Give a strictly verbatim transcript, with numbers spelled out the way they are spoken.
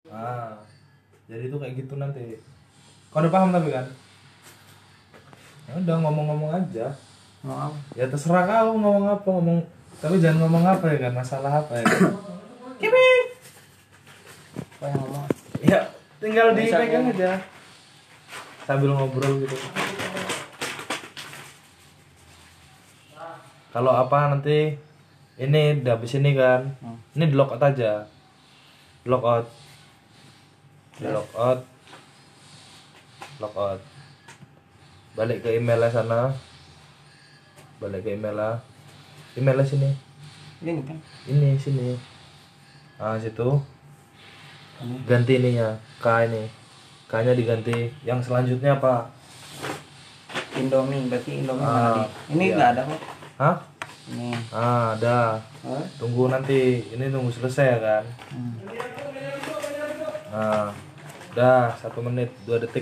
Ah, jadi itu kayak gitu nanti. Kau udah paham tapi kan? Ya udah ngomong-ngomong aja. Mau Ya terserah kau ngomong apa ngomong. Tapi jangan ngomong apa ya kan masalah apa ya. Kan? apa yang ngomong? Ya tinggal Bisa, dipegang kan? aja sambil ngobrol gitu. Kalau apa nanti ini udah habis ini kan, Hmm. ini di lock out aja, lock out, di lock out, lock out, balik ke emailnya sana, balik ke emailnya, emailnya sini, Ini kan? ini sini, ah situ, Ini. ganti ininya, K ini, K-nya diganti, yang selanjutnya apa? Indomie, berarti Indomie Ah, mana nih? Ini iya. nggak ada kok. Hah? Ini. Ah, ada. Hah? Tunggu nanti, ini tunggu selesai ya kan? Hmm. Nah, udah satu menit dua detik.